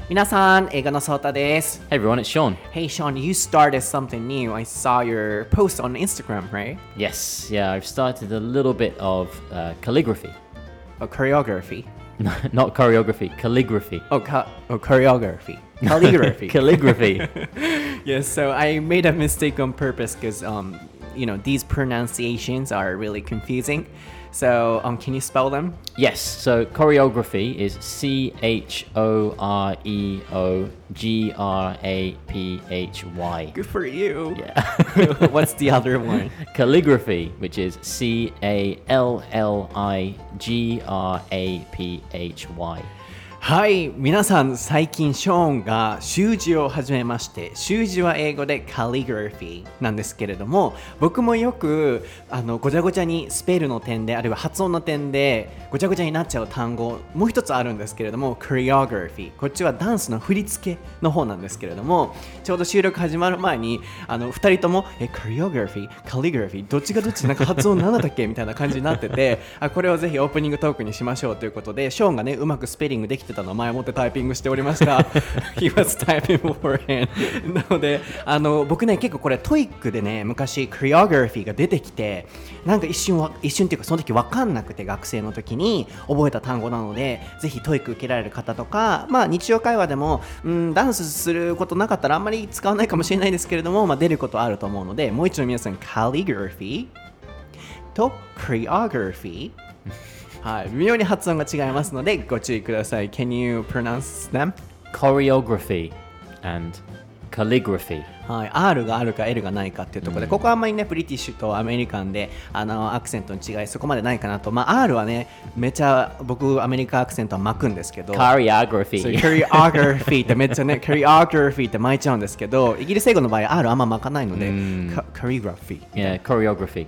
皆さん、英語のソータです。 Hey everyone, it's Sean. Hey Sean, you started something new. I saw your post on Instagram, right? Yes, yeah, I've started a little bit of calligraphy. Choreography. Not choreography, calligraphy. Choreography. Calligraphy. Calligraphy. Yes, so I made a mistake on purpose because, these pronunciations are really confusing. So, can you spell them? Yes, so choreography is Choreography. Good for you. Yeah. What's the other one? Calligraphy, which is Calligraphy. はい、皆さん最近ショーンが習字を始めまして、習字は英語で calligraphy なんですけれども、僕もよくごちゃごちゃにスペルの点であるいは発音の点でごちゃごちゃになっちゃう単語もう一つあるんですけれども choreography、 こっちはダンスの振り付けの方なんですけれども、ちょうど収録始まる前に2人ともchoreography、calligraphy どっちがどっちなんか発音なんだったっけみたいな感じになっててこれをぜひオープニングトークにしましょうということで、ショーンがねうまくスペリングできてたのを前もってタイピングしておりました。He was typing beforehand なので僕ね結構これトイックでね昔 choreography が出てきて、なんか一瞬っていうかその時分かんなくて学生の時に覚えた単語なので、ぜひトイック受けられる方とか、日常会話でもダンスすることなかったらあんまり使わないかもしれないですけれども、出ることあると思うので、もう一度皆さん calligraphy と choreography はい、微妙に発音が違いますのでご注意ください。Can you pronounce them? Choreography and calligraphy. はい、R があるか L がないかっていうところで、ここはあんまりねブリティッシュとアメリカンでアクセントの違いそこまでないかなと。R はねめちゃ僕アメリカアクセントは巻くんですけど、 Choreography ってめっちゃねChoreography って巻いちゃうんですけど、イギリス英語の場合 R あんま巻かないのでChoreography Yeah, choreography.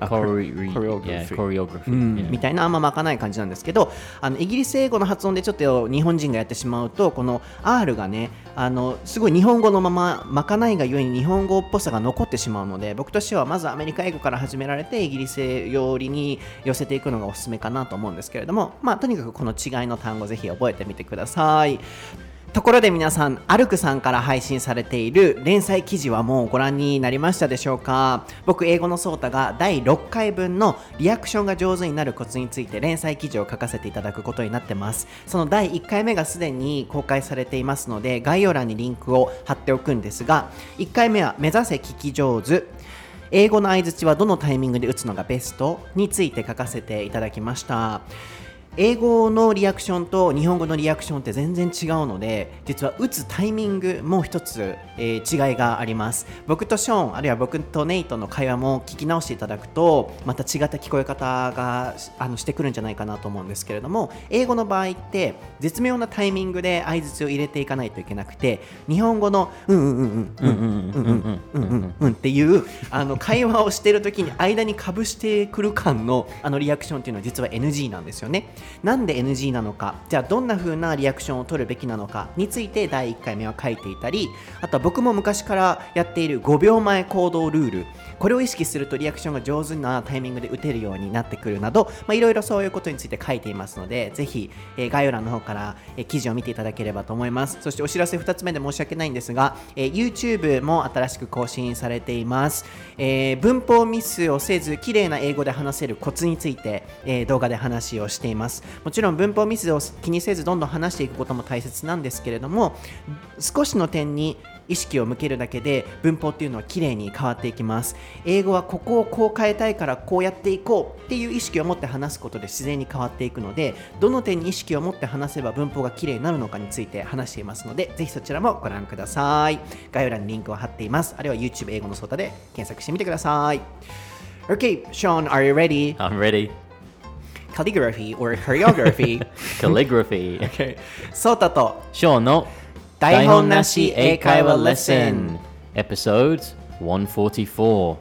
Choreography. みたいなあんま巻かない感じなんですけど、イギリス英語の発音でちょっと日本人がやってしまうと、この R がねすごい日本語のまま巻かないがゆえに日本語っぽさが残ってしまうので、僕としてはまずアメリカ英語から始められてイギリス寄りに寄せていくのがおすすめかなと思うんですけれども、とにかくこの違いの単語ぜひ覚えてみてください。ところで皆さん、アルクさんから配信されている連載記事はもうご覧になりましたでしょうか？僕、英語のソータが第6回分のリアクションが上手になるコツについて連載記事を書かせていただくことになってます。その第1回目がすでに公開されていますので、概要欄にリンクを貼っておくんですが、1回目は目指せ聞き上手。英語の相槌はどのタイミングで打つのがベストについて書かせていただきました。英語のリアクションと日本語のリアクションって全然違うので、実は打つタイミングも一つ、違いがあります。僕とショーンあるいは僕とネイトの会話も聞き直していただくとまた違った聞こえ方がしてくるんじゃないかなと思うんですけれども、英語の場合って絶妙なタイミングで相槌を入れていかないといけなくて、日本語のっていう会話をしている時に間にかぶしてくる感のリアクションっていうのは実は NG なんですよね。なんで NG なのか、じゃあどんな風なリアクションを取るべきなのかについて第1回目は書いていたり、あとは僕も昔からやっている5秒前行動ルール、これを意識するとリアクションが上手なタイミングで打てるようになってくるなど、いろいろそういうことについて書いていますので、ぜひ、概要欄の方から、記事を見ていただければと思います。そしてお知らせ2つ目で申し訳ないんですが、YouTube も新しく更新されています。文法ミスをせず綺麗な英語で話せるコツについて、動画で話をしています。もちろん文法ミスを気にせずどんどん話していくことも大切なんですけれども、少しの点に意識を向けるだけで文法っていうのは綺麗に変わっていきます。英語はここをこう変えたいからこうやっていこうっていう意識を持って話すことで自然に変わっていくので、どの点に意識を持って話せば文法が綺麗になるのかについて話していますので、ぜひそちらもご覧ください。概要欄にリンクを貼っています。あるいは YouTube 英語のソータで検索してみてください。 Okay, Sean, are you ready? I'm ready. Calligraphy or choreography? Calligraphy. Okay. ソータとショーンの台本なし英会話レッスン Episode 144.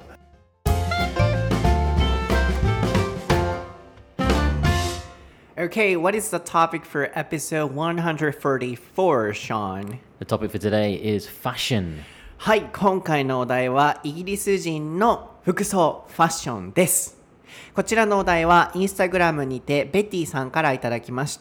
Okay, what is the topic for episode 134, Sean? The topic for today is fashion. はい、今回のお題はイギリス人の服装、ファッションです。 こちらのお題はインスタグラムにてベティさんからいただきました。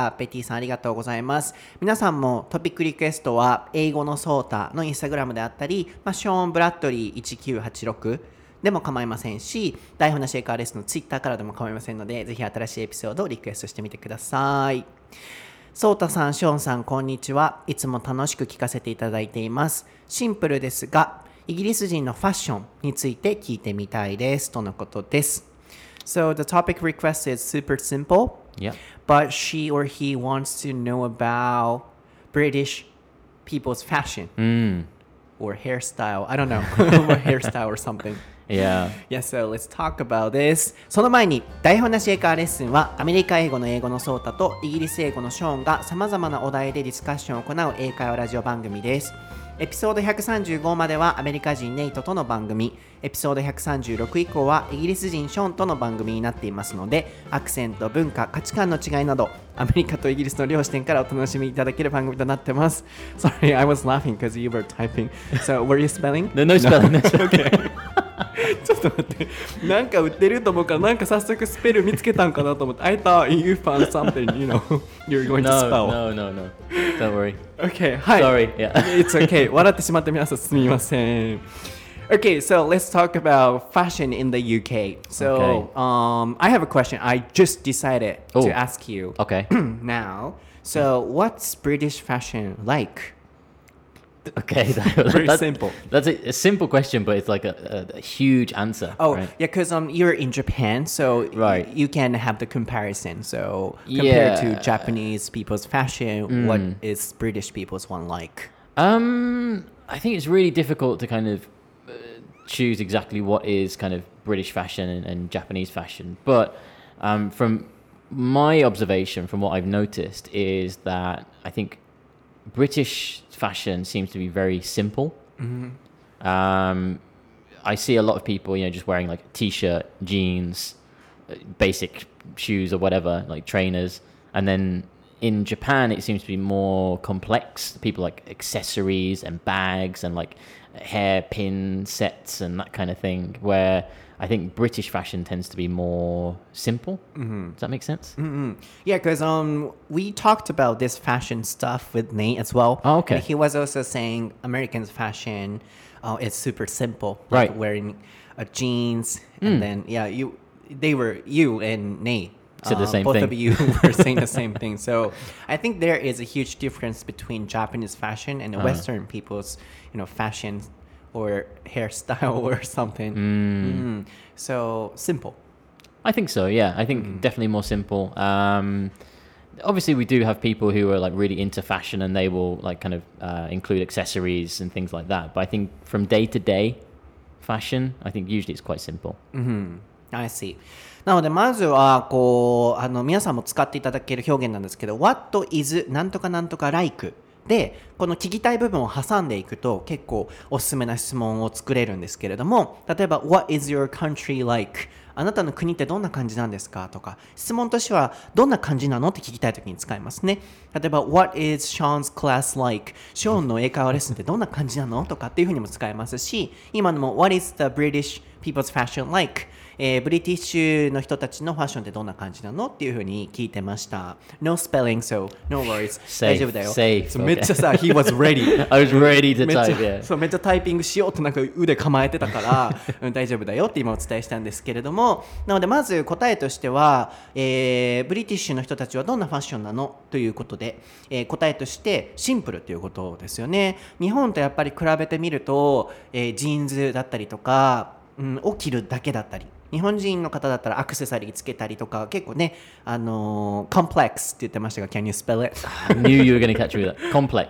ベティさんありがとうございます。皆さんもトピックリクエストは英語のソータのインスタグラムであったり、ショーン・ブラッドリー1986でも構いませんし、台本なしエカーレスのツイッターからでも構いませんので、ぜひ新しいエピソードをリクエストしてみてください。ソータさん、ショーンさん、こんにちは。いつも楽しく聞かせていただいています。シンプルですが、イギリス人のファッションについて聞いてみたいです。とのことです。So the topic request is super simple, Yeah. but she or he wants to know about British people's fashion or hairstyle. I don't know, or hairstyle or something. Yeah. Yeah, so let's talk about this. その前に、台本なし英会話レッスンはアメリカ英語の英語のソータとイギリス英語のショーンが様々なお題でディスカッションを行う英会話ラジオ番組です。エピソード135まではアメリカ人ネイトとの番組、エピソード136以降はイギリス人ショーンとの番組になっていますので、アクセント、文化、価値観の違いなどアメリカとイギリスの両視点からお楽しみいただける番組となってます。Sorry, I was laughing because you were typing. So, were you spelling? No spelling. No spelling. Okay. ちょっと待って、なんか売ってると思うからなんか早速スペル見つけたんかなと思って I thought you found something, you know, you're going to spell. No. Don't worry. Okay, はい。 Sorry. Yeah. It's okay. 笑ってしまって皆さんすみません。Okay, so let's talk about fashion in the UK. So, I have a question. I just decided to ask you Okay. now. So, what's British fashion like? Okay. Very simple. That's a simple question, but it's like a huge answer. Oh, right? yeah, because you're in Japan, so Right. you can have the comparison. So, compared to Yeah. Japanese people's fashion, what is British people's one like? I think it's really difficult to kind of choose exactly what is kind of British fashion and Japanese fashion. But from my observation, from what I've noticed, is that I think British fashion seems to be very simple. I see a lot of people, just wearing like t-shirt, jeans, basic shoes or whatever, like trainers. And then in Japan, it seems to be more complex. People like accessories and bags and like hairpin sets and that kind of thing, where I think British fashion tends to be more simple. Does that make sense? Yeah, because we talked about this fashion stuff with Nate as well. Oh, okay. And he was also saying Americans' fashion is super simple, Right. like wearing jeans, and then you and Nate. Said the same both thing. of you were saying the same thing. So I think there is a huge difference between Japanese fashion and Western people's, fashion or hairstyle or something. So simple. I think so, yeah. I think definitely more simple. Obviously, we do have people who are like really into fashion and they will like kind of include accessories and things like that. But I think from day to day fashion, I think usually it's quite simple. I see. なのでまずは皆さんも使っていただける表現なんですけど What is なんとかなんとか like でこの聞きたい部分を挟んでいくと結構おすすめな質問を作れるんですけれども、例えば What is your country like? あなたの国ってどんな感じなんですかとか、質問としてはどんな感じなのって聞きたいときに使いますね。例えば What is Sean's class like? ショーンの英会話レッスンってどんな感じなのとかっていうふうにも使えますし、今のも What is the British people's fashion like?ブリティッシュの人たちのファッションってどんな感じなのっていうふうに聞いてました。No spelling, so no worries. 大丈夫だよ。 Safe. めっちゃさ、he was ready. I was ready to めっちゃ type, yeah. そうめっちゃタイピングしようとなんか腕構えてたから大丈夫だよって今お伝えしたんですけれども、なのでまず答えとしては、ブリティッシュの人たちはどんなファッションなのということで、答えとしてシンプルということですよね。日本とやっぱり比べてみると、ジーンズだったりとか、を着るだけだったり、日本人の方だったらアクセサリーつけたりとか結構ね、コンプレックスって言ってましたが Can you spell it? I knew you were going to catch me with that. Complex.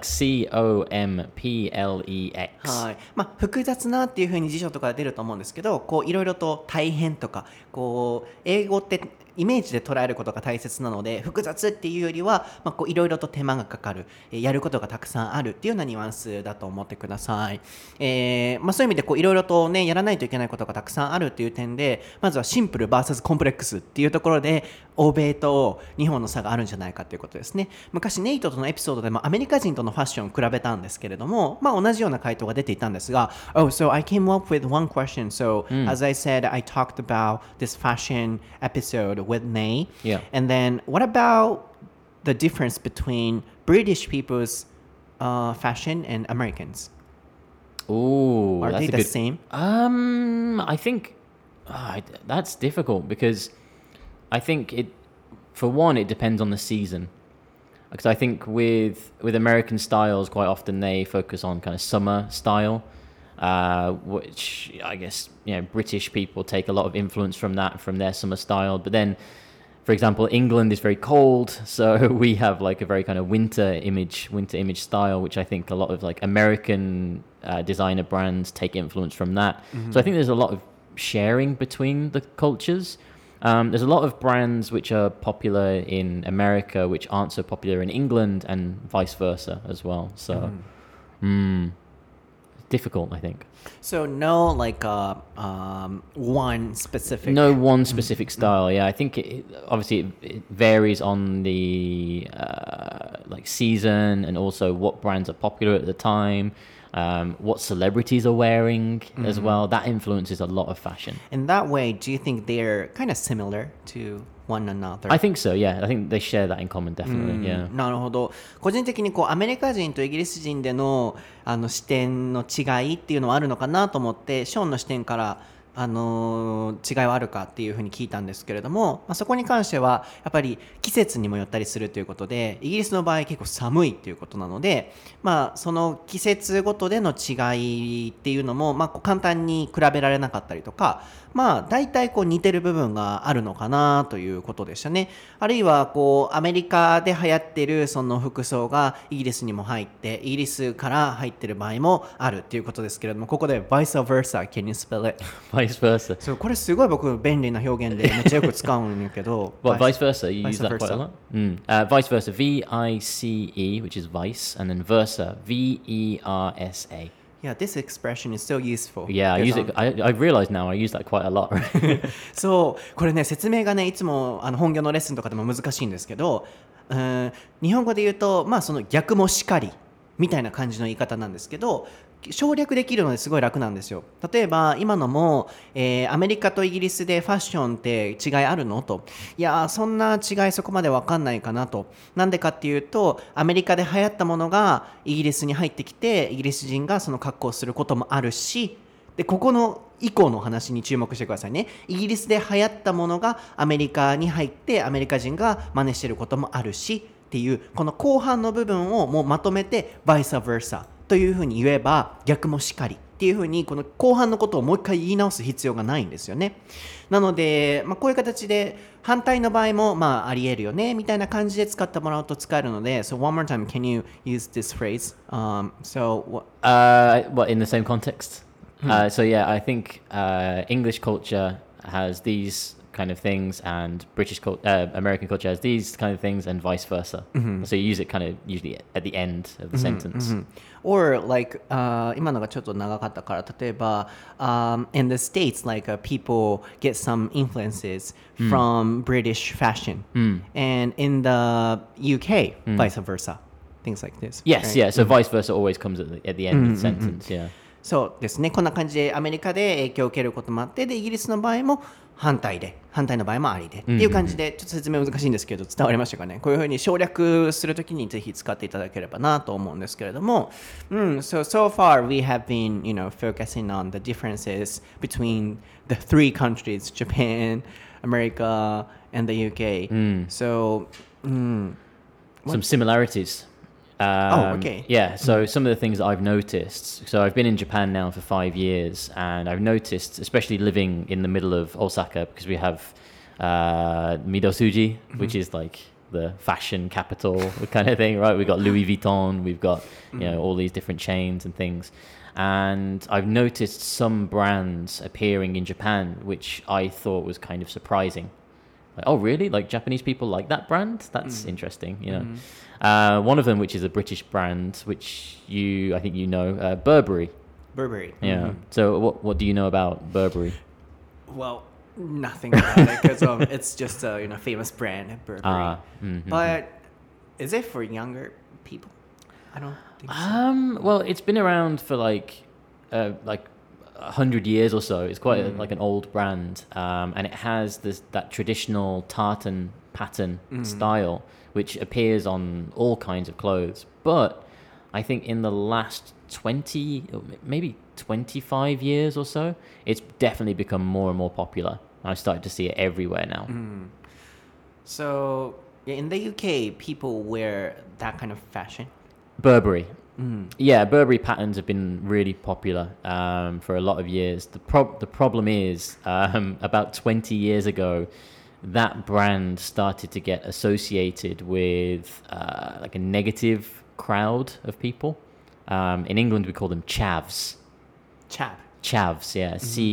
C-O-M-P-L-E-X. はい。複雑なっていう風に辞書とかで出ると思うんですけど、こういろいろと大変とか、こう英語ってイメージで捉えることが大切なので、複雑っていうよりは、こういろいろと手間がかかる、やることがたくさんあるっていうようなニュアンスだと思ってください。そういう意味でいろいろとねやらないといけないことがたくさんあるっていう点で、まずはシンプル vs コンプレックスっていうところで欧米と日本の差があるんじゃないかっていうことですね。昔ネイトとのエピソードでもアメリカ人とのファッションを比べたんですけれども、同じような回答が出ていたんですが、Oh, so I came up with one question. So, as I said, I talked about this fashion episode with Nay. Yeah. And then what about the difference between British people's fashion and Americans? Oh, Are that's they a the good. same? I think that's difficult because I think for one, it depends on the season. Because I think with American styles, quite often they focus on kind of summer style, which I guess British people take a lot of influence from that from their summer style. But then, for example, England is very cold, so we have like a very kind of winter image style, which I think a lot of like American designer brands take influence from that. So I think there's a lot of sharing between the cultures. There's a lot of brands which are popular in America which aren't so popular in England and vice versa as well. So, difficult, I think. So no one specific. No one specific style. Yeah, I think obviously it varies on the like season and also what brands are popular at the time. What celebrities are wearing as well. That influences a lot of fashion. In that way, do you think they're kind of similar to one another? I think so, yeah. I think they share that in common, definitely, yeah. なるほど。個人的にアメリカ人とイギリス人での、視点の違いっていうのはあるのかなと思って、ショーンの視点から違いはあるかっていうふうに聞いたんですけれども、そこに関してはやっぱり季節にもよったりするということで、イギリスの場合結構寒いっていうことなので、その季節ごとでの違いっていうのも、簡単に比べられなかったりとか、大体似てる部分があるのかなということでしたね。あるいはアメリカで流行ってるその服装がイギリスにも入って、イギリスから入ってる場合もあるっていうことですけれども、ここで vice versa, can you spell it? Vice versa. そう、これすごい僕便利な表現でめっちゃよく使うんやけど。 Well, vice versa, you vice use that quite a versa. lot. Vice versa, V-I-C-E, which is vice, and then versa, V-E-R-S-A. Yeah, this expression is so useful. Yeah, I use it. I've realized now I use that quite a lot. そうこれね説明がねいつも本業のレッスンとかでも難しいんですけど、日本語で言うとその逆もしかりみたいな感じの言い方なんですけど、省略できるのですごい楽なんですよ。例えば今のも、アメリカとイギリスでファッションって違いあるのと、いやそんな違いそこまで分かんないかなと。なんでかっていうとアメリカで流行ったものがイギリスに入ってきてイギリス人がその格好をすることもあるし、でここの以降の話に注目してくださいね。イギリスで流行ったものがアメリカに入ってアメリカ人が真似してることもあるしっていう、この後半の部分をもうまとめて vice versa というふうに言えば逆もしかりっていうふうにこの後半のことをもう一回言い直す必要がないんですよね。なので、こういう形で反対の場合もあり得るよねみたいな感じで使ってもらうと使えるので So one more time, can you use this phrase? What, in the same context? So yeah, I think English culture has these kind of things and American culture has these kind of things and vice versa. So you use it kind of usually at the end of the sentence. Or like 今のがちょっと長かったから例えばin the States people get some influences from British fashion and in the UK vice versa, things like this. Yes, right? yeah. So vice versa always comes at the end of the sentence. Yeah. そうですね。こんな感じでアメリカで影響を受けることもあって、でイギリスの場合も反対の場合もありでっていう感じで、ちょっと説明難しいんですけど伝わりましたかね。こういうふうに省略するときにぜひ使っていただければなと思うんですけれども、so far we have been, focusing on the differences between the three countries, Japan, America, and the UK. So, some similarities. Okay. Yeah, so some of the things that I've noticed. So I've been in Japan now for 5 years, and I've noticed, especially living in the middle of Osaka, because we have Midosuji, which is like the fashion capital kind of thing, right? We've got Louis Vuitton, we've got all these different chains and things. And I've noticed some brands appearing in Japan, which I thought was kind of surprising. Like, oh, really? Like Japanese people like that brand? That's interesting. One of them, which is a British brand, which I think you know, Burberry. Burberry. Yeah. So what do you know about Burberry? Well, nothing about it because it's just a famous brand, Burberry. But is it for younger people? I don't think so. Well, it's been around for like 100 years or so. It's quite like an old brand, and it has that traditional tartan pattern style, which appears on all kinds of clothes. But I think in the last 20, maybe 25 years or so, it's definitely become more and more popular. I started to see it everywhere now. So in the UK, people wear that kind of fashion. Burberry. Yeah, Burberry patterns have been really popular for a lot of years. The problem is about 20 years ago, that brand started to get associated with like a negative crowd of people. In England, we call them chavs. Chavs, yeah.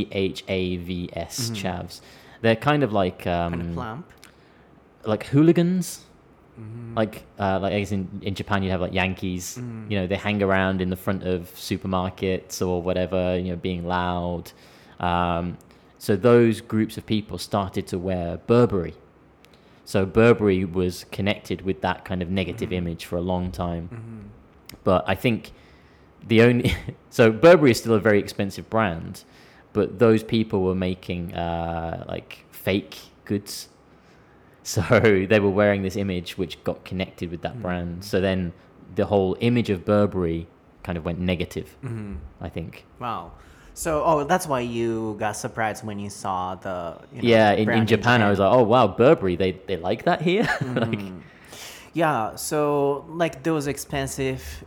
Chavs, chavs. They're kind of like Kind of plump. like hooligans. Like I guess in Japan you have like Yankees. They hang around in the front of supermarkets or whatever, being loud. So those groups of people started to wear Burberry. So Burberry was connected with that kind of negative image for a long time. But I think so Burberry is still a very expensive brand, but those people were making like fake goods. So they were wearing this image which got connected with that brand. So then the whole image of Burberry kind of went negative, I think. Wow. So, that's why you got surprised when you saw the in Japan, I was like, oh, wow, Burberry, they like that here? Yeah, so like those expensive,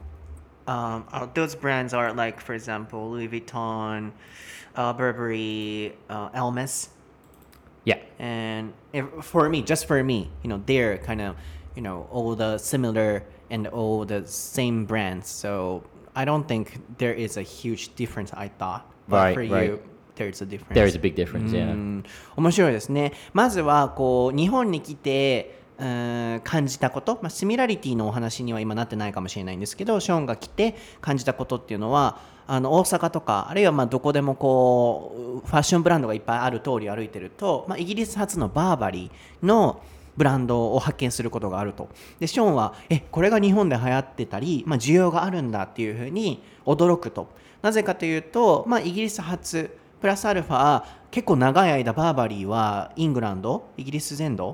those brands are like, for example, Louis Vuitton, Burberry, Hermes. Yeah. And just for me, they're kind of, all the similar and all the same brands. So I don't think there is a huge difference, I thought. But for you, there's a difference. There is a big difference, yeah. 面白いですね。まずは日本に来て感じたこと、シミラリティのお話には今なってないかもしれないんですけど、ショーンが来て感じたことっていうのは大阪とかあるいはどこでもファッションブランドがいっぱいある通り歩いてると、イギリス発のバーバリーのブランドを発見することがあると。でショーンはこれが日本で流行ってたり、需要があるんだっていうふうに驚くと。なぜかというと、イギリス発プラスアルファ結構長い間バーバリーはイングランドイギリス全土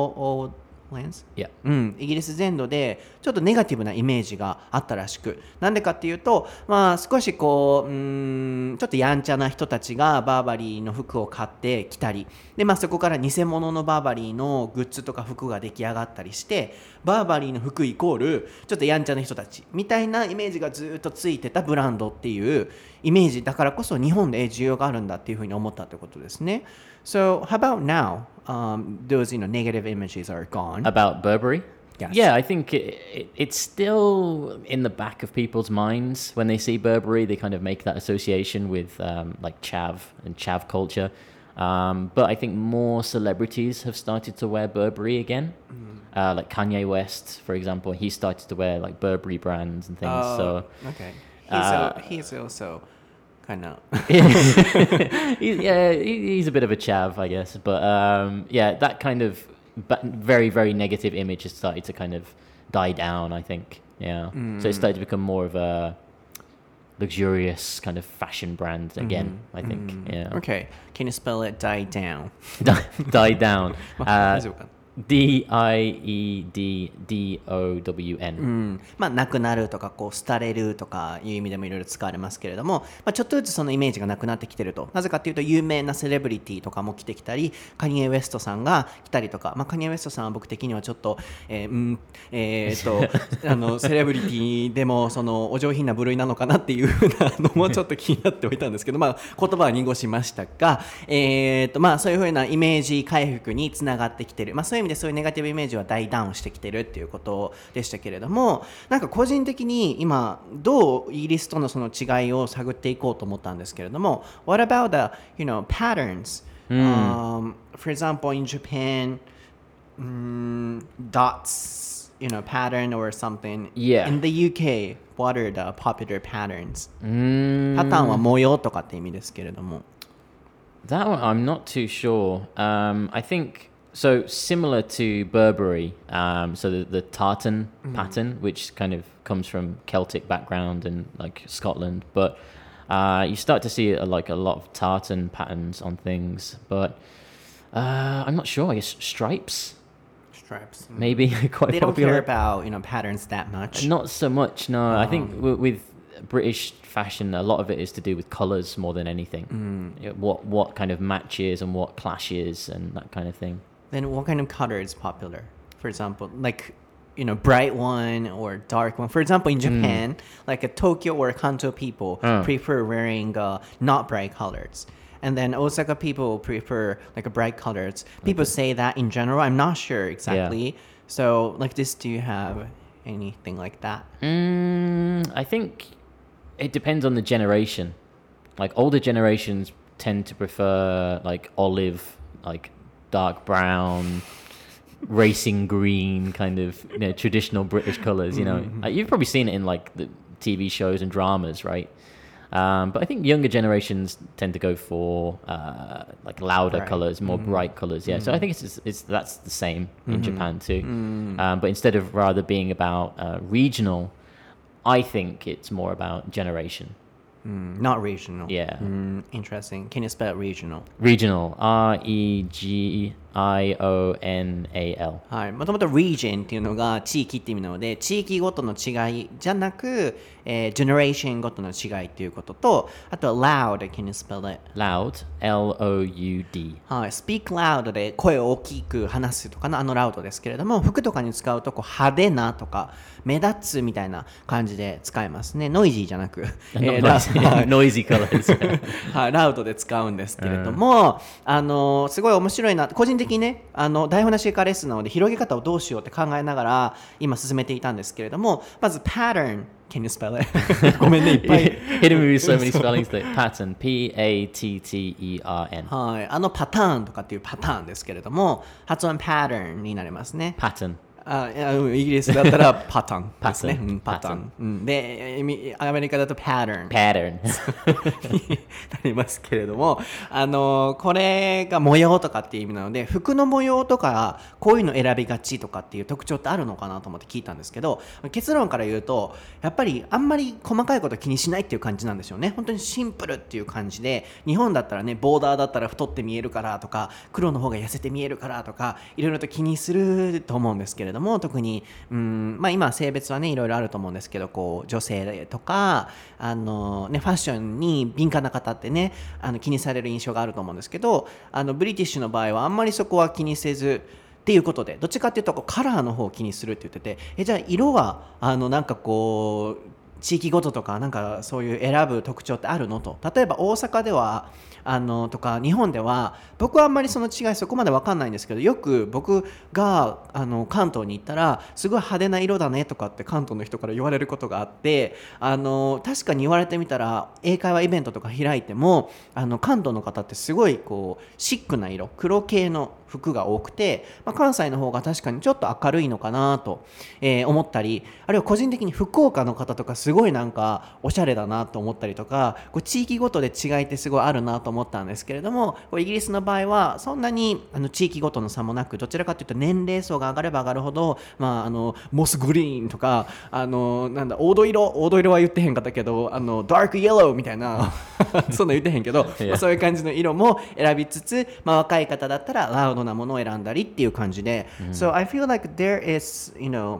イギリス全土でちょっとネガティブなイメージがあったらしく、なんでかっていうと、少しちょっとやんちゃな人たちがバーバリーの服を買ってきたりで、そこから偽物のバーバリーのグッズとか服が出来上がったりして、バーバリーの服イコールちょっとやんちゃな人たちみたいなイメージがずっとついてたブランドっていうイメージだからこそ日本で需要があるんだっていうふうに思ったってことですね。So how about now? Those negative images are gone. About Burberry? Yes. Yeah, I think it's still in the back of people's minds when they see Burberry. They kind of make that association with like chav and chav culture. But I think more celebrities have started to wear Burberry again. Like Kanye West, for example, he started to wear like Burberry brands and things. So okay, he's also kind of he's a bit of a chav, I guess. But that kind of very, very negative image has started to kind of die down, I think. Yeah. So it started to become more of a luxurious kind of fashion brand again, I think. Yeah. Okay. Can you spell it die down? Die down. 大丈夫かな DIEDDOWN、 なくなるとか廃れるとかいう意味でもいろいろ使われますけれども、ちょっとずつそのイメージがなくなってきてると。なぜかというと有名なセレブリティとかも来てきたり、カニエ・ウェストさんが来たりとか、カニエ・ウェストさんは僕的にはちょっとセレブリティでもそのお上品な部類なのかなっていうふうなのもちょっと気になっておいたんですけど、言葉は濁しましたが、そういうふうなイメージ回復につながってきてる。そういう意味でそういうネガティブイメージはダイダウンしてきてるっていうことでしたけれども、なんか個人的に今どうイギリスとのその違いを探っていこうと思ったんですけれども、What about the patterns For example, in Japan, dots, pattern or something. Yeah. In the UK, what are the popular patterns? パターンは模様とかって意味ですけれども。 That one, I'm not too sure. I think so. Similar to Burberry, so the tartan pattern, which kind of comes from Celtic background and like Scotland, but you start to see like a lot of tartan patterns on things. But I'm not sure. I guess stripes, Stripes. maybe quite They don't popular. care about patterns that much. Not so much. No, I think with British fashion, a lot of it is to do with colors more than anything. What kind of matches and what clashes and that kind of thing. Then what kind of color is popular? For example, like bright one or dark one. For example, in Japan, like a Tokyo or Kanto people prefer wearing not bright colors. And then Osaka people prefer like bright colors. People say that in general. I'm not sure exactly. So like this, do you have anything like that? I think it depends on the generation. Like older generations tend to prefer like olive, like dark brown, racing green kind of traditional British colors. You've probably seen it in like the TV shows and dramas, right? But I think younger generations tend to go for like louder colors, more bright colors. Yeah, so I think that's the same in Japan too. But instead of rather being about regional, I think it's more about generation. Not regional. Yeah. Interesting. Can you spell regional? Regional. REGIONAL. はい、もともと region っていうのが地域って意味なので、地域ごとの違いじゃなく、generation ごとの違いっていうことと、あとは loud, can you spell it? Loud. LOUD. はい、speak loud で声を大きく話すとかのloud ですけれども、服とかに使うと派手なとか目立つみたいな感じで使えますね。ノイジーじゃなく、 Noisy colors. はい、ラウドで使うんですけれども、すごい面白いな、個人的にね、台本なし化レッスンなので広げ方をどうしようって考えながら今進めていたんですけれども、まず pattern can you spell it? ごめんね、いっぱい Hitting me with so many spellings. Pattern. PATTERN. はい、パターンとかっていうパターンですけれども、発音 pattern になりますね。 Pattern. イギリスだったらパターンですね。 Pattern パターン。で、アメリカだと pattern Pattern. になりますけれども、これが模様とかっていう意味なので、服の模様とかこういうの選びがちとかっていう特徴ってあるのかなと思って聞いたんですけど、結論から言うとやっぱりあんまり細かいこと気にしないっていう感じなんですよね。本当にシンプルっていう感じで、日本だったらね、ボーダーだったら太って見えるからとか、黒の方が痩せて見えるからとか、いろいろと気にすると思うんですけれども、特に今性別はねいろいろあると思うんですけど、こう女性とかファッションに敏感な方ってね、気にされる印象があると思うんですけど、ブリティッシュの場合はあんまりそこは気にせずっていうことで、どっちかっていうとこうカラーの方を気にするって言ってて、じゃあ色はなんかこう地域ごととかなんかそういう選ぶ特徴ってあるのと。例えば大阪ではとか日本では僕はあんまりその違いそこまで分かんないんですけど、よく僕が関東に行ったらすごい派手な色だねとかって関東の人から言われることがあって、確かに言われてみたら英会話イベントとか開いても関東の方ってすごいこうシックな色、黒系の服が多くて、関西の方が確かにちょっと明るいのかなと、思ったり、あるいは個人的に福岡の方とかすごいなんかおしゃれだなと思ったりとか、こう地域ごとで違いってすごいあるなと思ったんですけれども、イギリスの場合はそんなに地域ごとの差もなく、どちらかというと年齢層が上がれば上がるほど、モスグリーンとかなんだ黄土色は言ってへんかったけどダークイエローみたいなそんな言ってへんけど、そういう感じの色も選びつつ、若い方だったらラウドなものを選んだりっていう感じで、So I feel like there is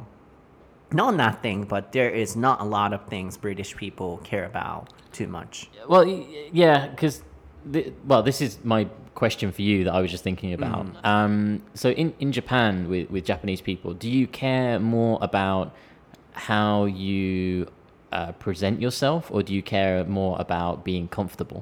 not nothing, but there is not a lot of things British people care about too much. Well, yeah, because this is my question for you that I was just thinking about. So in Japan with Japanese people, do you care more about how you present yourself, or do you care more about being comfortable?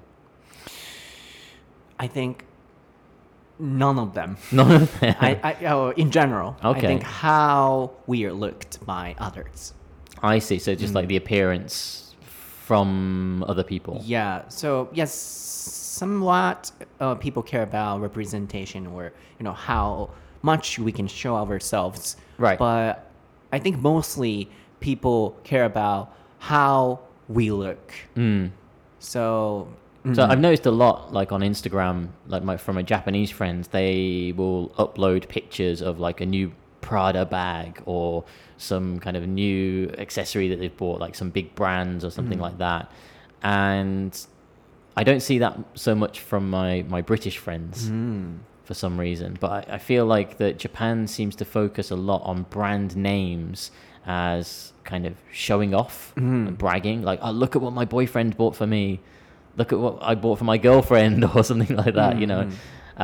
I think none of them. None of them. In general, Okay. I think how we are looked by others. I see. So just like the appearance from other people. Yeah. So yes, somewhat people care about representation or how much we can show ourselves. Right. But I think mostly people care about how we look. So So I've noticed a lot, like on Instagram, like from my Japanese friends, they will upload pictures of like a new Prada bag or some kind of new accessory that they've bought, like some big brands or something like that. And I don't see that so much from my British friends for some reason. But I feel like that Japan seems to focus a lot on brand names as kind of showing off and bragging. Like, oh, look at what my boyfriend bought for me. Look at what I bought for my girlfriend or something like that, you know.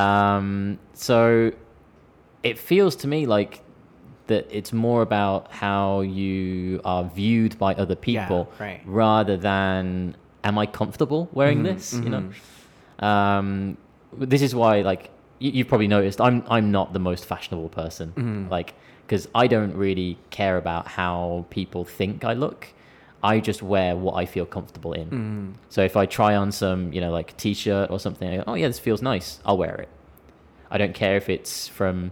So it feels to me like that it's more about how you are viewed by other people rather than am I comfortable wearing this, you know. This is why, like, you've probably noticed I'm not the most fashionable person, like, because I don't really care about how people think I look. I just wear what I feel comfortable in. So if I try on some, like t-shirt or something, I go, oh yeah, this feels nice, I'll wear it. I don't care if it's from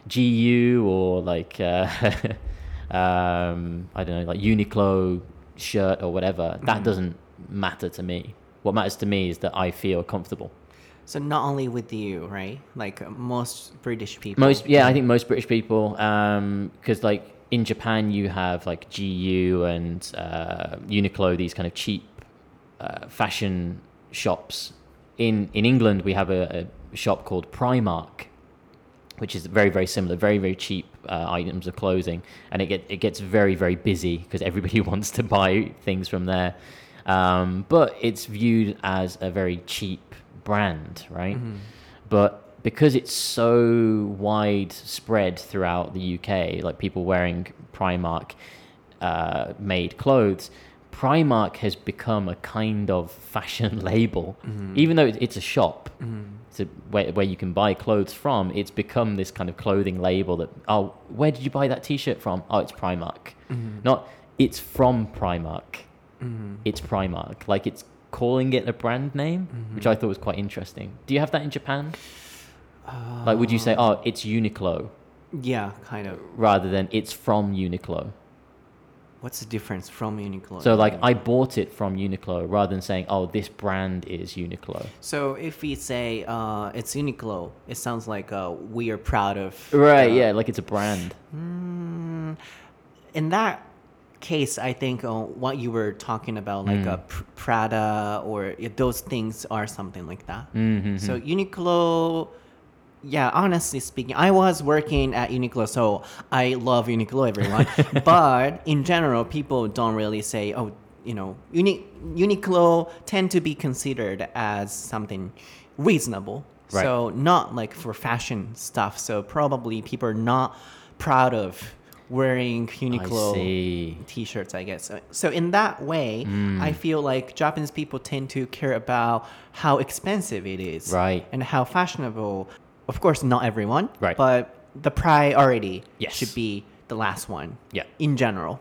GU or like, I don't know, like Uniqlo shirt or whatever. That doesn't matter to me. What matters to me is that I feel comfortable. So not only with you, right? Like most British people. I think most British people, because like, in Japan, you have like GU and Uniqlo, these kind of cheap fashion shops. In England, we have a shop called Primark, which is very, very similar, very, very cheap items of clothing. And it gets very, very busy because everybody wants to buy things from there. But it's viewed as a very cheap brand, right? But because it's so widespread throughout the UK, like people wearing Primark made clothes, Primark has become a kind of fashion label. Even though it's a shop where you can buy clothes from, it's become this kind of clothing label that, oh, where did you buy that t-shirt from? Oh, it's Primark. Not, it's from Primark. It's Primark. Like, it's calling it a brand name, which I thought was quite interesting. Do you have that in Japan? Like, would you say, oh, it's Uniqlo? Yeah, kind of. Rather than it's from Uniqlo. What's the difference from Uniqlo? So, like, I bought it from Uniqlo rather than saying, oh, this brand is Uniqlo. So, if we say it's Uniqlo, it sounds like we are proud of... Right, yeah, like it's a brand. In that case, I think what you were talking about, like Prada or those things are something like that. So, Uniqlo... Yeah, honestly speaking, I was working at Uniqlo, so I love Uniqlo, everyone. But in general, people don't really say, oh, Uniqlo tend to be considered as something reasonable. Right. So not like for fashion stuff. So probably people are not proud of wearing Uniqlo t-shirts, I guess. So in that way, I feel like Japanese people tend to care about how expensive it is. Right. And how fashionable. Of course, not everyone, right. But the priority yes. should be the last one, yeah. In general.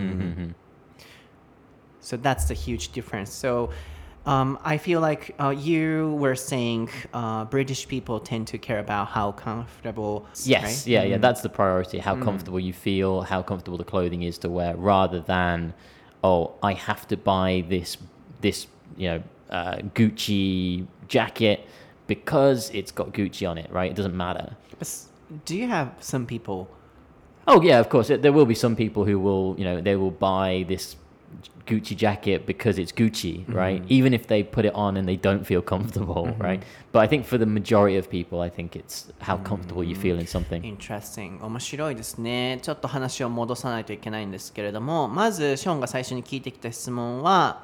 So that's the huge difference. So I feel like you were saying British people tend to care about how comfortable. Yes, right? yeah, that's the priority. How comfortable you feel, how comfortable the clothing is to wear, rather than, oh, I have to buy this Gucci jacket because it's got Gucci on it, right? It doesn't matter. Do you have some people? Oh yeah, of course. There will be some people who will, they will buy this Gucci jacket because it's Gucci, right? Even if they put it on and they don't feel comfortable, right? But I think for the majority of people, I think it's how comfortable you feel in something. Interesting. 面白いですね。ちょっと話を戻さないといけないんですけれども、まずショーンが最初に聞いてきた質問は、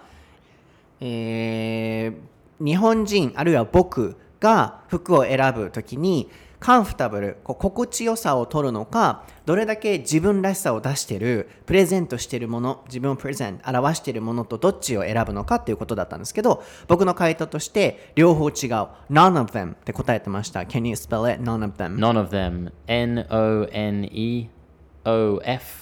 日本人あるいは僕が服を選ぶときにカンフタブル、心地よさを取るのか、どれだけ自分らしさを出している、プレゼントしているもの、自分をプレゼント、表しているものとどっちを選ぶのかっていうことだったんですけど、僕の回答として両方違う None of them って答えてました。 Can you spell it? None of them. None of them. N-O-N-E-O-F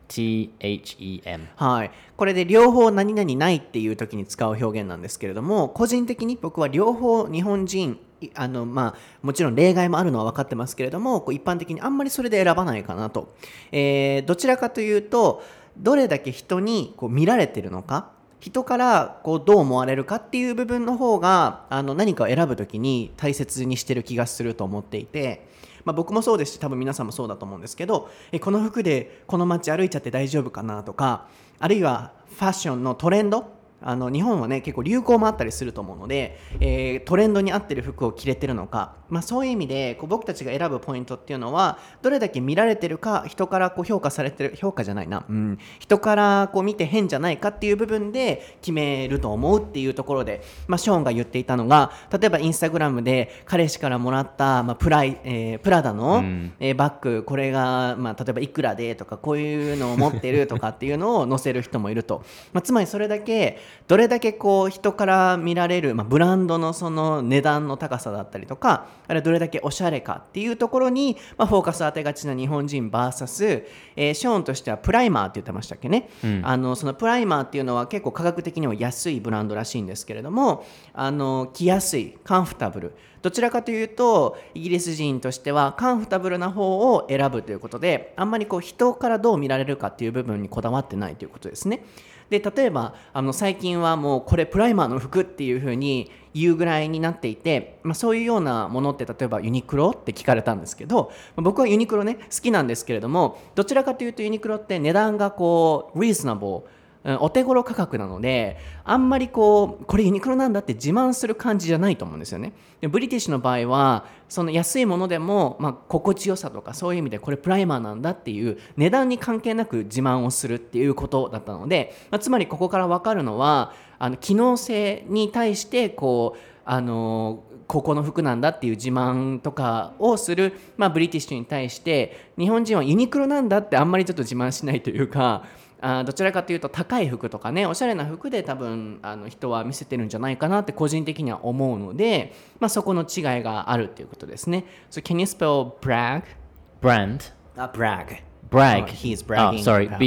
THEM。 はい、これで両方何々ないっていう時に使う表現なんですけれども、個人的に僕は両方日本人もちろん例外もあるのは分かってますけれども、こう一般的にあんまりそれで選ばないかなと、どちらかというとどれだけ人にこう見られてるのか、人からこうどう思われるかっていう部分の方が何かを選ぶときに大切にしてる気がすると思っていて、僕もそうですし多分皆さんもそうだと思うんですけど、この服でこの街歩いちゃって大丈夫かなとか、あるいはファッションのトレンド、日本はね結構流行もあったりすると思うので、トレンドに合ってる服を着れてるのか、そういう意味でこう僕たちが選ぶポイントっていうのはどれだけ見られてるか、人からこう評価されてる、評価じゃないな、人からこう見て変じゃないかっていう部分で決めると思うっていうところで、ショーンが言っていたのが、例えばインスタグラムで彼氏からもらった、プラダの、バッグ、これが、例えばいくらでとか、こういうのを持ってるとかっていうのを載せる人もいると、つまりそれだけどれだけこう人から見られる、ブランドのその値段の高さだったりとか、あれどれだけおしゃれかっていうところに、フォーカス当てがちな日本人 VS、ショーンとしてはプライマーって言ってましたっけね、そのプライマーっていうのは結構価格的には安いブランドらしいんですけれども、着やすい、カンフタブル、どちらかというとイギリス人としてはカンフタブルな方を選ぶということで、あんまりこう人からどう見られるかっていう部分にこだわってないということですね。で例えば最近はもうこれプライマーの服っていう風に言うぐらいになっていて、そういうようなものって例えばユニクロって聞かれたんですけど、僕はユニクロね好きなんですけれども、どちらかというとユニクロって値段がこうリーズナブル、お手頃価格なので、あんまりこれユニクロなんだって自慢する感じじゃないと思うんですよね。でブリティッシュの場合はその安いものでも、心地よさとかそういう意味でこれプライマーなんだっていう値段に関係なく自慢をするっていうことだったので、つまりここから分かるのは機能性に対してここの服なんだっていう自慢とかをする、ブリティッシュに対して日本人はユニクロなんだってあんまりちょっと自慢しないというか、どちらかというと高い服とかね、おしゃれな服で多分人は見せてるんじゃないかなって個人的には思うので、そこの違いがあるっていうことですね。So can you spell brag? Brand. Brag. Brag. He's bragging. Sorry. about.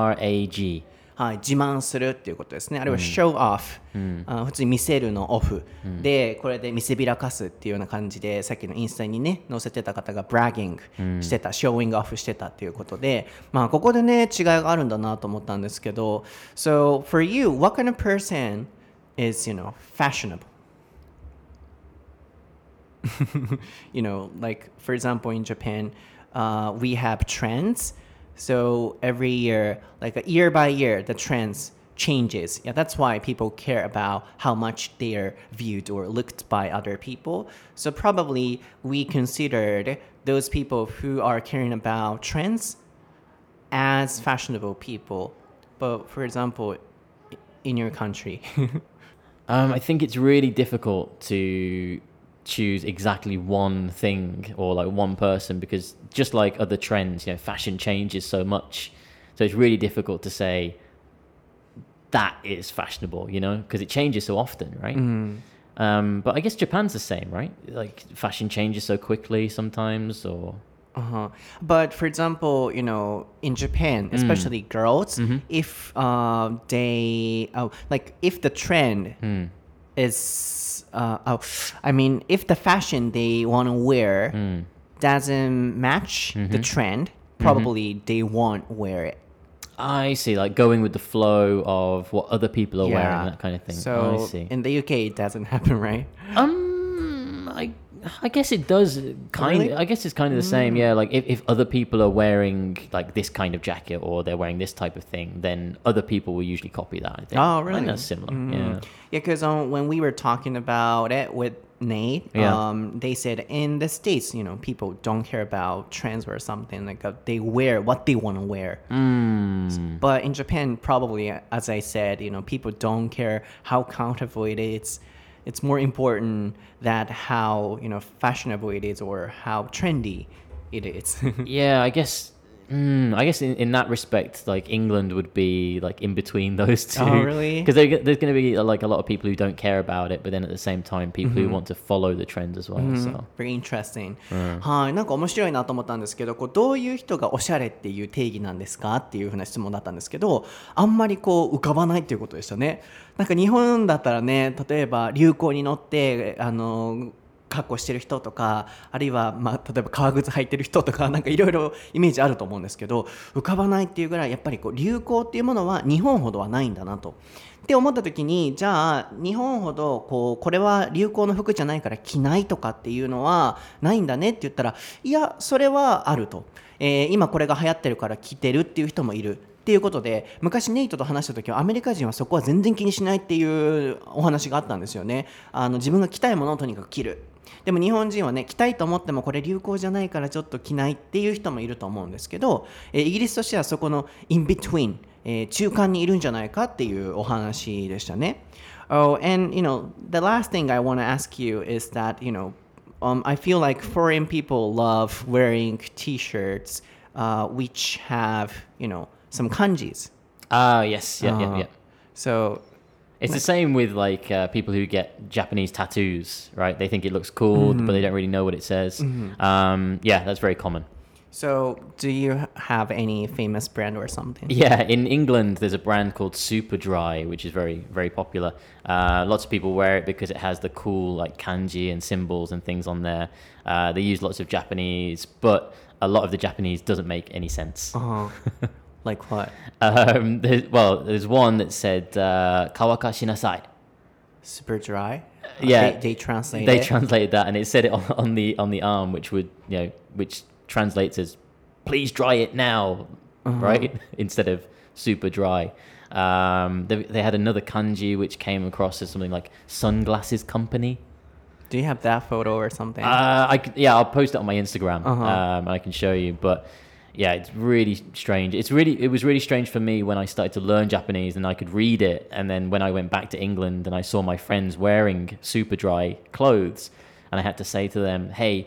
BRAG. はい、自慢するっていうことですね。あるいは show off、普通に見せるのオフ、でこれで見せびらかすっていうような感じで、さっきのインスタにね載せてた方が bragging してた、showing off してたっていうことで、ここでね違いがあるんだなと思ったんですけど、 So for you, what kind of person is, fashionable? Like for example in Japan、we have trends. So every year, like a year by year, the trends changes. Yeah, that's why people care about how much they are viewed or looked by other people. So probably we considered those people who are caring about trends as fashionable people. But for example, in your country. I think it's really difficult to choose exactly one thing or like one person, because just like other trends, fashion changes so much, so it's really difficult to say that is fashionable, because it changes so often, right? But I guess Japan's the same, right? Like fashion changes so quickly sometimes, or But for example, in Japan, especially girls, if if the trend is if the fashion they want to wear doesn't match the trend, probably they won't wear it. I see, like going with the flow of what other people are wearing, that kind of thing. So I see. in the UK it doesn't happen, right? I guess it does Really? I guess it's kind of the same. Yeah, like if other people are wearing like this kind of jacket or they're wearing this type of thing, then other people will usually copy that, I think. Oh, really? I think that's similar. Yeah. Yeah, because when we were talking about it with Nate, they said in the States, people don't care about trends or something, like they wear what they want to wear. But in Japan, probably, as I said, people don't care how comfortable it is. It's more important that how fashionable it is or how trendy it is. Yeah, I guess I guess in that respect, like England would be like in between those two. Oh, really? Because there's going to be like a lot of people who don't care about it, but then at the same time, people who want to follow the trends as well. So Very interesting. はい、なんか面白いなと思ったんですけど、こうどういう人がおしゃれっていう定義なんですかっていうふうな質問だったんですけど、あんまりこう浮かばないっていうことでしたね。なんか日本だったらね、例えば流行に乗って格好してる人とか、あるいは、例えば革靴履いてる人とか、なんかいろいろイメージあると思うんですけど、浮かばないっていうぐらいやっぱりこう流行っていうものは日本ほどはないんだなと。って思った時に、じゃあ日本ほどこれは流行の服じゃないから着ないとかっていうのはないんだねって言ったら、いやそれはあると、今これが流行ってるから着てるっていう人もいるっていうことで、昔ネイトと話した時はアメリカ人はそこは全然気にしないっていうお話があったんですよね。自分が着たいものをとにかく着る。でも日本人はね、着たいと思ってもこれ流行じゃないからちょっと着ないっていう人もいると思うんですけど、イギリスとしてはそこの in between、中間にいるんじゃないかっていうお話でしたね。Oh, and the last thing I want to ask you is that I feel like foreign people love wearing t-shirts which have some kanjis. Yes, yeah. So it's the same with like people who get Japanese tattoos, right? They think it looks cool, but they don't really know what it says. Yeah, that's very common. So, do you have any famous brand or something? Yeah, in England, there's a brand called Superdry, which is very, very popular. Lots of people wear it because it has the cool like kanji and symbols and things on there. They use lots of Japanese, but a lot of the Japanese doesn't make any sense. Like what? There's one that said "kawaka shinasai." Super dry. Yeah, they translate. They it. translated that, and it said it on the arm, which translates as "please dry it now," right? Instead of "super dry." They had another kanji which came across as something like "sunglasses company." Do you have that photo or something? I'll post it on my Instagram, and I can show you. But yeah, it's really strange. It was really strange for me when I started to learn Japanese and I could read it. And then when I went back to England and I saw my friends wearing super dry clothes, and I had to say to them, hey,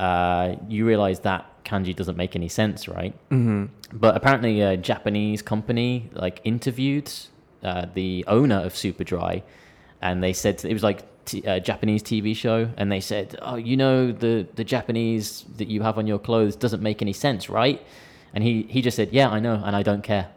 you realize that kanji doesn't make any sense, right? But apparently a Japanese company like interviewed the owner of Superdry, and they said it was like a Japanese TV show, and they said, oh, the Japanese that you have on your clothes doesn't make any sense, right? And he just said, yeah, I know, and I don't care.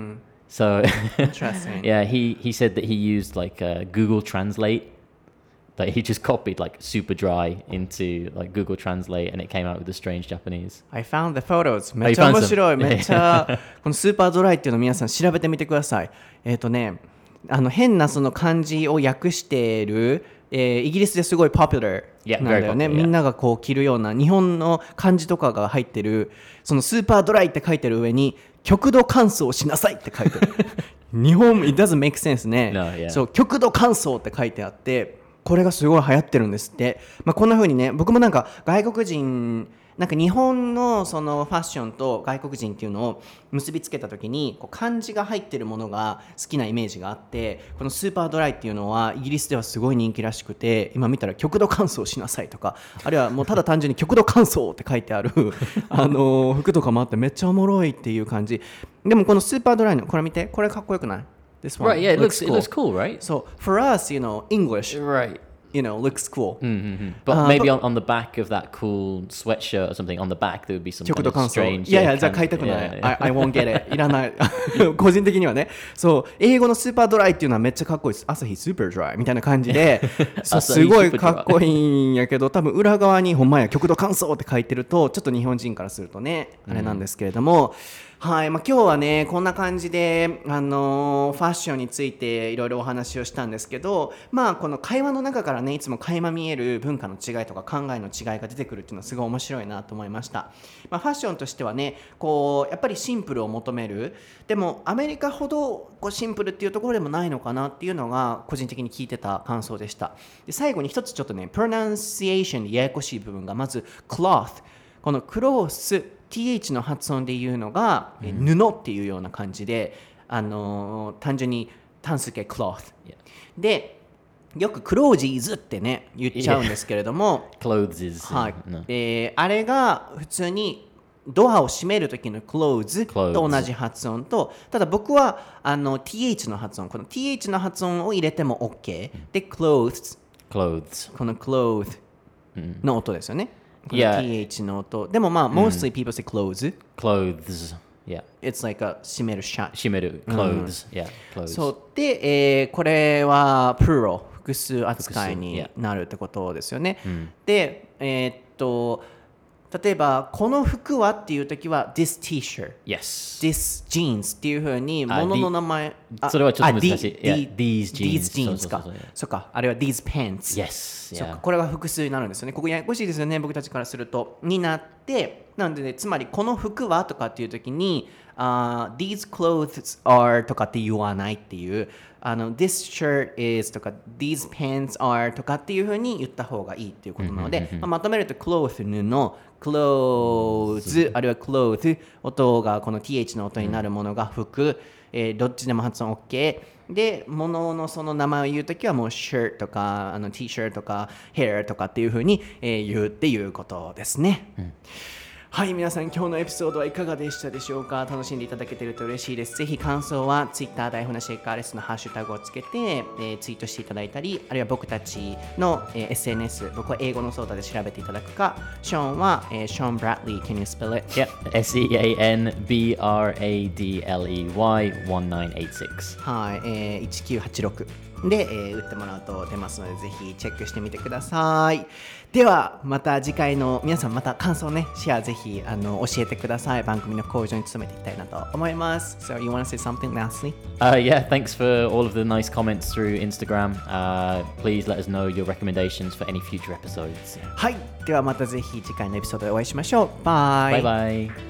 So Interesting. Yeah, he said that he used like Google Translate. Like he just copied like super dry into like Google Translate, and it came out with the strange Japanese. I found the photos. めっちゃ面白い。めっちゃこのスーパードライっていうのを皆さん調べてみてください。変なその漢字を訳している、イギリスですごいポピュラーなんだよね。 Yeah, みんながこう着るような日本の漢字とかが入ってる、そのスーパードライって書いてる上に極度乾燥しなさいって書いてる。日本 it doesn't make sense ね。 No, yeah. そう極度乾燥って書いてあって、これがすごい流行ってるんですって。こんな風にね、僕もなんか外国人なんか日本のそのファッションと外国人っていうのを結びつけた時にこう漢字が入ってるものが好きなイメージがあって、このスーパードライっていうのはイギリスではすごい人気らしくて、今見たら極度乾燥しなさいとか、あるいはもうただ単純に極度乾燥って書いてある服とかもあってめっちゃおもろいっていう感じ。でもこのスーパードライのこれ見て、これかっこよくない？ This one Right, yeah, it looks cool, right? So for us, English, Right. looks cool. But maybe on the back of that cool sweatshirt or something, on the back there would be some 極 kind 度 of 乾燥。 strange. いやじゃあ買いたくない。 Yeah. I won't get it. いらない。個人的にはね。そう、英語のスーパードライっていうのはめっちゃかっこいいです。朝日スーパードライみたいな感じで、そうすごいかっこいいんやけど、多分裏側にほんまや極度乾燥って書いてると、ちょっと日本人からするとね、あれなんですけれども、はい、今日はねこんな感じで、ファッションについていろいろお話をしたんですけど、この会話の中からねいつも垣間見える文化の違いとか考えの違いが出てくるっていうのはすごい面白いなと思いました。ファッションとしてはねやっぱりシンプルを求める。でもアメリカほどシンプルっていうところでもないのかなっていうのが個人的に聞いてた感想でした。で最後に一つちょっとねプロナンシエーションでややこしい部分が、まず cloth、 このクロースth の発音で言うのが、布っていうような感じで、単純に単数形 cloth、でよくクロージーズってね言っちゃうんですけれども、 Clothes is はい、 no. あれが普通にドアを閉める時の close と同じ発音と、ただ僕はth の発音、この th の発音を入れても OK で clothes この cloth の音ですよね。この th の音でもまあ mostly people say clothes Yeah. It's like a 閉める閉める clothes Yeah clothes そうで、これは plural 複数扱いになるってことですよね。で例えばこの服はっていう時は this t-shirt Yes this jeans っていう風に物の名前それはちょっと難しい。 these jeans jeans かそうかあれは these pants Yes そうかこれが複数になるんですよね。ここややこしいですよね僕たちからするとになってなので、ね、つまりこの服はとかっていう時にthese clothes are とかって言わないっていうthis shirt is とか these pants are とかっていう風に言った方がいいっていうことなので、まとめると cloth 布clothes あるいは cloth 音がこの th の音になるものが服、どっちでも発音 OK で物のその名前を言うときはもう shirt とかt-shirt とか hair とかっていう風に、言うっていうことですね。はい皆さん今日のエピソードはいかがでしたでしょうか。楽しんでいただけていると嬉しいです。ぜひ感想は Twitter 台本シェイカーレスのハッシュタグをつけて、ツイートしていただいたりあるいは僕たちの、SNS 僕は英語のソーダで調べていただくかショーンは、ショーン・ブラッドリー Can you spell it? Yep SEANBRADLEY1986 はい、1986で、打ってもらうと出ますのでぜひチェックしてみてください。ではまた次回の皆さんまた感想ねシェアぜひ教えてください。番組の向上に努めていきたいなと思います。So you want to say something lastly? Yeah, thanks for all of the nice comments through Instagram. Please let us know your recommendations for any future episodes. はいではまたぜひ次回のエピソードでお会いしましょう。バイバイバイ